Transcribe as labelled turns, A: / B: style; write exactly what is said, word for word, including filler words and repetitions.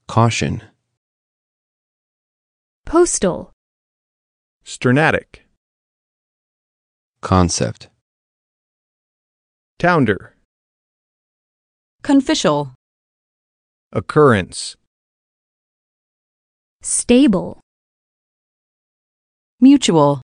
A: caution,
B: postal,
C: sternatic,
A: concept,
C: tounder,
D: conficial,
C: occurrence,
B: stable,
D: mutual.